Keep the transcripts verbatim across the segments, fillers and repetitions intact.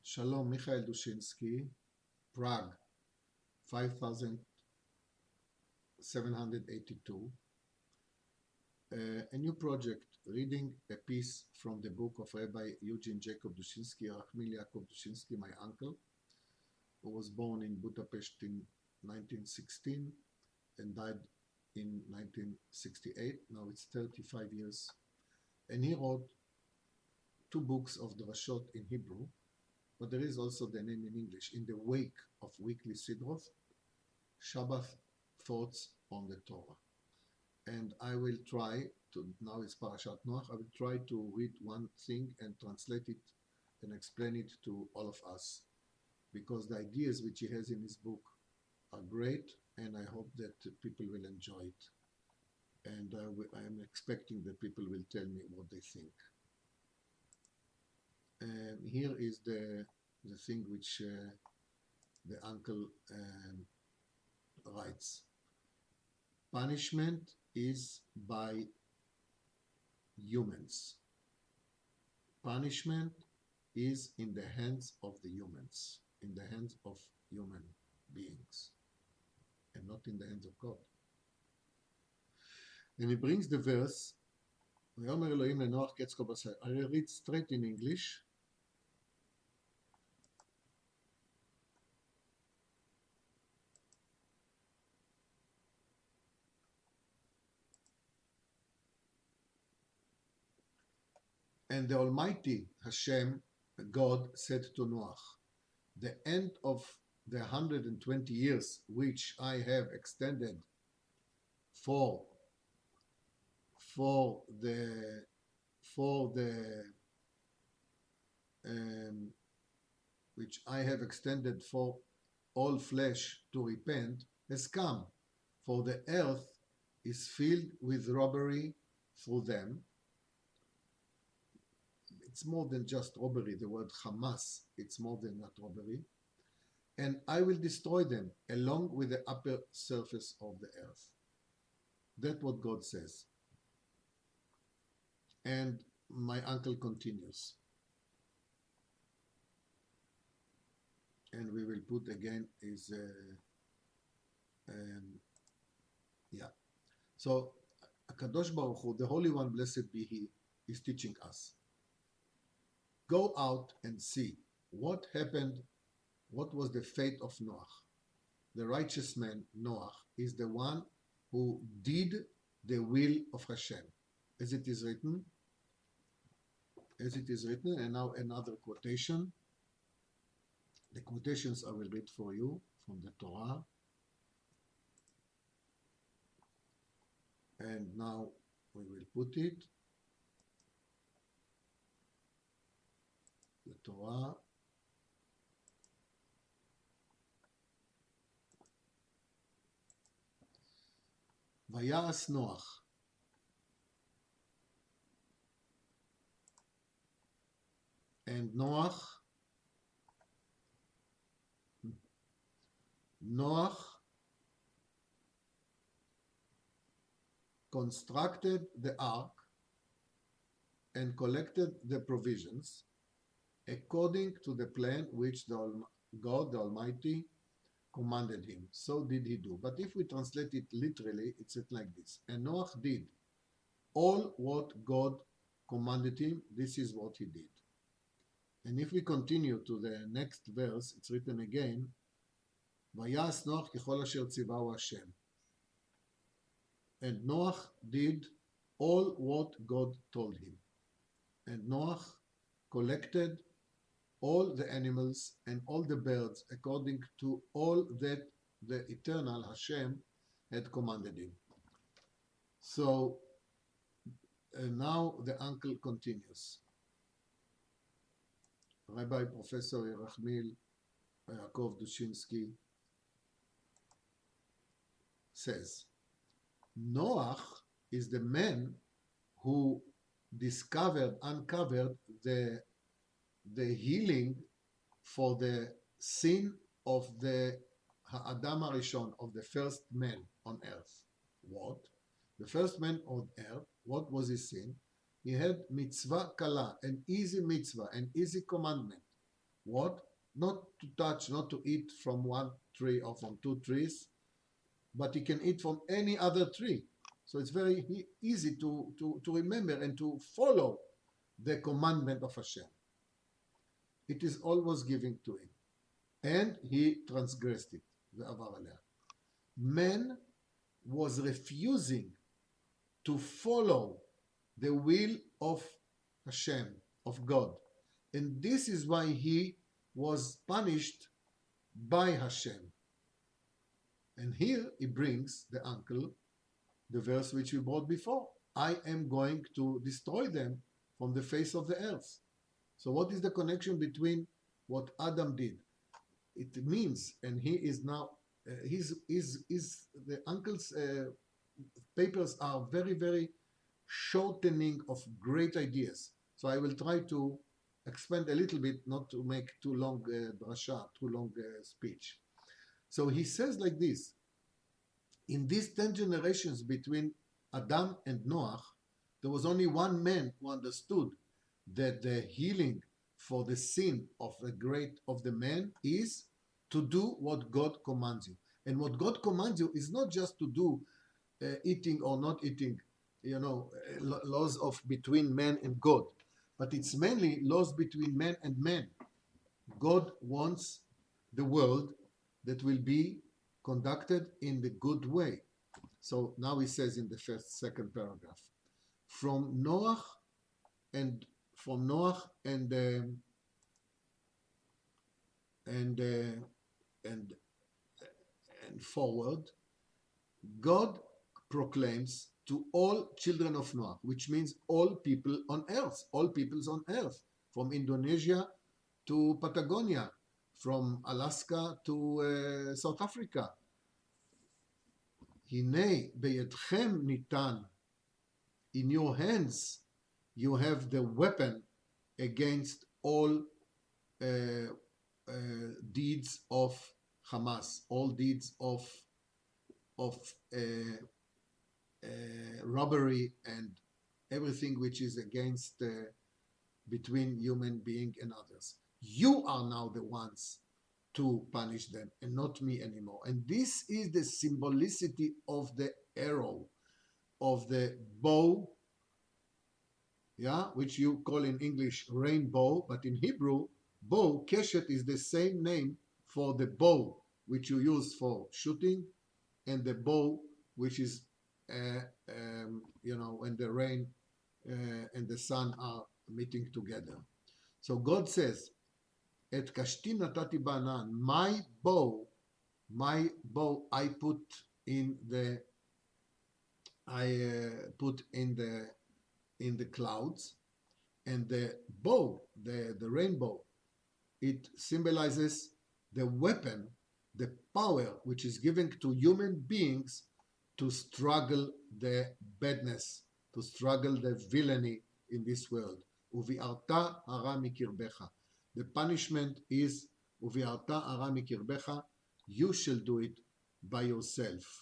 Shalom, Michael Dushinsky, Prague, five thousand seven hundred eighty-two. Uh, a new project, reading a piece from the book of Rabbi Eugene Jacob Dushinsky, Rachmil Yaakov Dushinsky, my uncle, who was born in Budapest in nineteen sixteen and died in nineteen sixty-eight. Now it's thirty-five years. And he wrote two books of Drashot in Hebrew, but there is also the name in English, In the Wake of Weekly Sidroth, Shabbat Thoughts on the Torah. And I will try to, now it's Parashat Noach, I will try to read one thing and translate it and explain it to all of us, because the ideas which he has in his book are great, and I hope that people will enjoy it. And uh, I am expecting that people will tell me what they think. And here is the, the thing which uh, the uncle um, writes. Punishment is by humans. Punishment is in the hands of the humans, in the hands of human beings, and not in the hands of God. And he brings the verse, ויאמר אלוהים לנוח קץ כל בשר. I will read straight in English. And the Almighty Hashem, God, said to Noach, the end of the one hundred twenty years which I have extended for, for the, for the, um, which I have extended for all flesh to repent, has come, for the earth is filled with robbery through them. It's more than just robbery, the word Hamas, it's more than that robbery. And I will destroy them along with the upper surface of the earth. That's what God says. And my uncle continues. And we will put again is, uh, um, yeah. So, Kadosh Baruch Hu, the Holy One, blessed be He, is teaching us. Go out and see what happened, what was the fate of Noach. The righteous man, Noach, is the one who did the will of Hashem, as it is written, as it is written, and now another quotation. The quotations I will read for you from the Torah. And now we will put it. The Torah. Vayas Noach. And Noach, Noach constructed the ark and collected the provisions according to the plan which the God the Almighty commanded him. So did he do. But if we translate it literally, it's like this. And Noach did all what God commanded him. This is what he did. And if we continue to the next verse, it's written again, Vayas Noach kechol asher tzivahu Hashem. And Noach did all what God told him. And Noach collected all the animals and all the birds according to all that the eternal Hashem had commanded him. So uh, now the uncle continues. Rabbi Professor Rachmil Yaakov Dushinsky says, Noach is the man who discovered, uncovered the the healing for the sin of the Ha'adam HaRishon, of the first man on earth. What? The first man on earth, what was his sin? He had mitzvah kala, an easy mitzvah, an easy commandment, What? Not to touch, not to eat from one tree or from two trees, but he can eat from any other tree. So it's very e- easy to, to, to remember and to follow the commandment of Hashem. It is always given to him. And he transgressed it. ועבר עליה. Man was refusing to follow the will of Hashem, of God. And this is why he was punished by Hashem. And here he brings the uncle, the verse which we brought before. I am going to destroy them from the face of the earth. So what is the connection between what Adam did? It means, and he is now, uh, his, his, his, the uncle's uh, papers are very, very shortening of great ideas. So I will try to expand a little bit, not to make too long uh, drasha, too long uh, speech. So he says like this, in these ten generations between Adam and Noach, there was only one man who understood that the healing for the sin of the great of the man is to do what God commands you. And what God commands you is not just to do uh, eating or not eating, you know, uh, laws of between man and God, but it's mainly laws between man and man. God wants the world that will be conducted in the good way. So now he says in the first, second paragraph, from Noach and from Noach and um, and uh, and and forward, God proclaims to all children of Noah, which means all people on earth, all peoples on earth, from Indonesia to Patagonia, from Alaska to uh, South Africa. Hine beyedchem nitan, in your hands you have the weapon against all uh, uh, deeds of Hamas, all deeds of of uh, uh, robbery and everything which is against uh, between human being and others. You are now the ones to punish them and not me anymore. And this is the symbolicity of the arrow, of the bow, yeah, which you call in English rainbow, but in Hebrew, bow, keshet, is the same name for the bow which you use for shooting, and the bow which is, uh, um, you know, when the rain uh, and the sun are meeting together. So God says, Et kashti natati banan, my bow, my bow I put in the, I uh, put in the, in the clouds, and the bow, the, the rainbow, it symbolizes the weapon, the power which is given to human beings to struggle the badness, to struggle the villainy in this world. Uvi'arta hara mikirbecha. The punishment is Uvi'arta hara mikirbecha. You shall do it by yourself.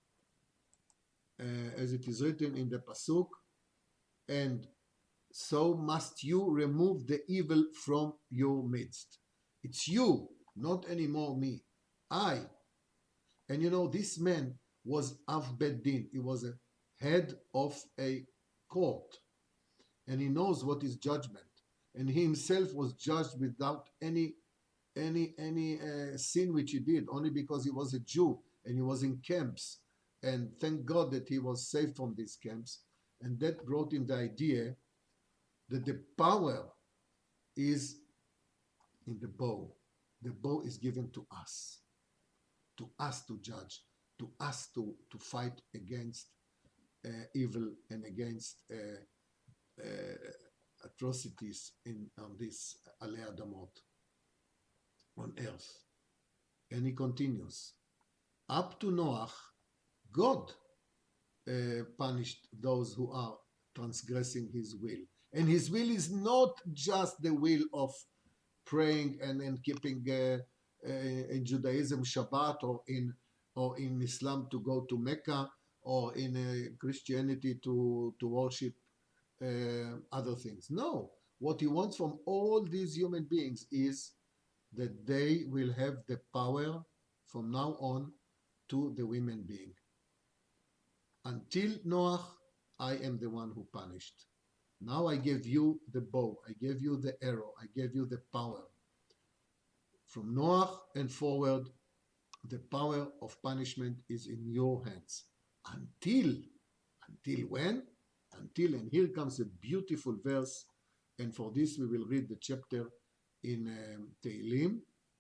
Uh, as it is written in the Pasuk, and so must you remove the evil from your midst. It's you, not anymore me. I. And you know, this man was Av Bet Din. He was a head of a court. And he knows what is judgment. And he himself was judged without any any any uh, sin which he did, only because he was a Jew and he was in camps. And thank God that he was saved from these camps. And that brought him the idea that the power is in the bow. The bow is given to us, to us to judge, to us to, to fight against uh, evil and against uh, uh, atrocities in on this Alei Adamot, on earth. And he continues, up to Noach, God uh, punished those who are transgressing his will. And his will is not just the will of praying and, and keeping uh, uh, in Judaism Shabbat, or in or in Islam to go to Mecca, or in uh, Christianity to, to worship uh, other things. No, what he wants from all these human beings is that they will have the power from now on to the women being. Until Noach, I am the one who punished. Now I gave you the bow, I gave you the arrow, I gave you the power. From Noach and forward, the power of punishment is in your hands. Until, until when? Until, and here comes a beautiful verse, and for this we will read the chapter in um, Tehillim,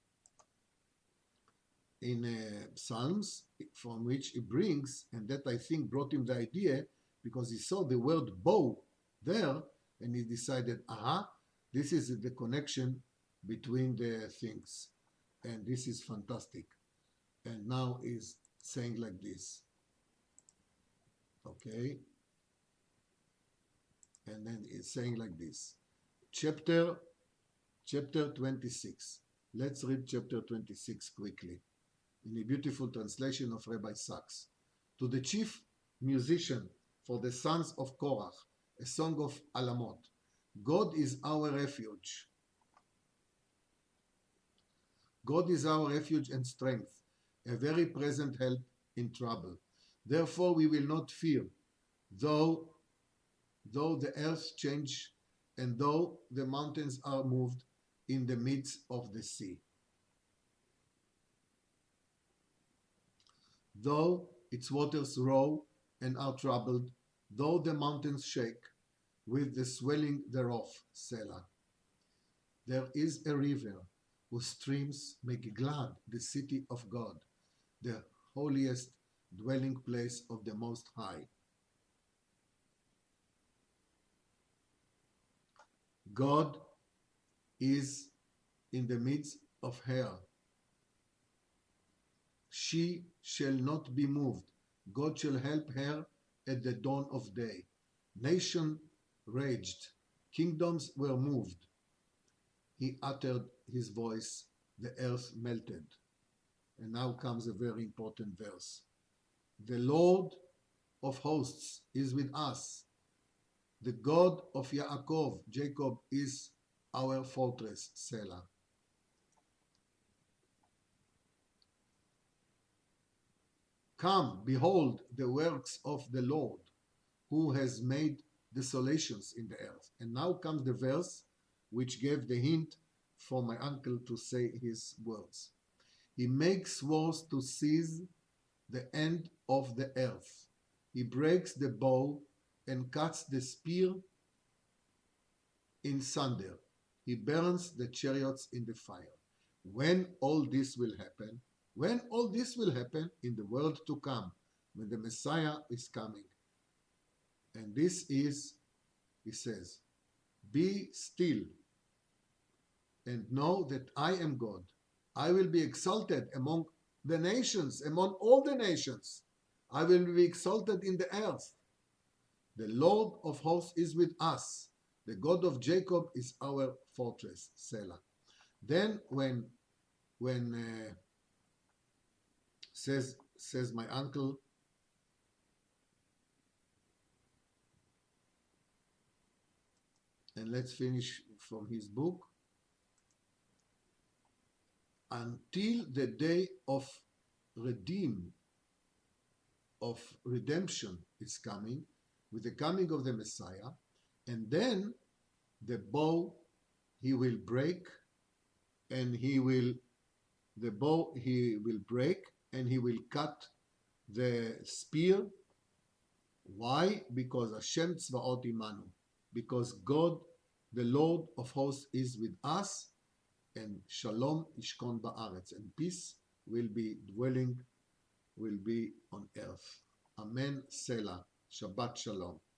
in uh, Psalms, from which he brings, and that I think brought him the idea, because he saw the word bow there, and he decided, aha, this is the connection between the things, and this is fantastic. And now he's saying like this, okay, and then he's saying like this, chapter, chapter twenty-six. Let's read chapter twenty-six quickly, in a beautiful translation of Rabbi Sachs. To the chief musician for the sons of Korach, a song of Alamot. God is our refuge. God is our refuge and strength, a very present help in trouble. Therefore we will not fear, though, though the earth change, and though the mountains are moved in the midst of the sea. Though its waters roar and are troubled, though the mountains shake with the swelling thereof, Selah. There is a river whose streams make glad the city of God, the holiest dwelling place of the Most High. God is in the midst of her. She shall not be moved. God shall help her at the dawn of day. Nation raged, kingdoms were moved. He uttered his voice, the earth melted. And now comes a very important verse. The Lord of hosts is with us. The God of Yaakov, Jacob, is our fortress, Selah. Come, behold the works of the Lord, who has made desolations in the earth. And now comes the verse which gave the hint for my uncle to say his words. He makes wars to seize the end of the earth. He breaks the bow and cuts the spear in sunder. He burns the chariots in the fire. When all this will happen, when all this will happen in the world to come, when the Messiah is coming. And this is, he says, be still and know that I am God. I will be exalted among the nations, among all the nations. I will be exalted in the earth. The Lord of hosts is with us. The God of Jacob is our fortress, Selah. Then when, when uh, says, says my uncle, and let's finish from his book, until the day of redeem, of redemption is coming, with the coming of the Messiah, and then the bow he will break, and he will, the bow he will break, and he will cut the spear. Why? Because Hashem Tzvaot Imanu, because God, the Lord of hosts, is with us, and Shalom Ishkon Ba'aretz, and peace will be dwelling, will be on earth. Amen. Selah. Shabbat Shalom.